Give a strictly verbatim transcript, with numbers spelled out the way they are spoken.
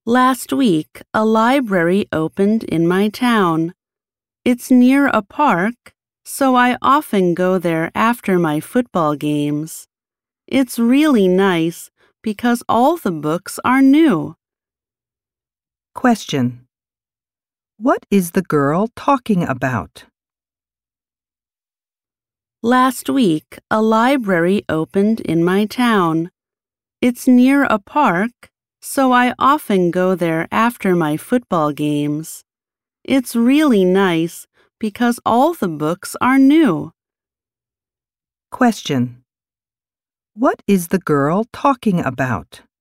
Last week, a library opened in my town. It's near a park, so I often go there after my football games. It's really nice because all the books are new. Question. What is the girl talking about? Last week, a library opened in my town. It's near a park, so I often go there after my football games. It's really nice because all the books are new. Question. What is the girl talking about?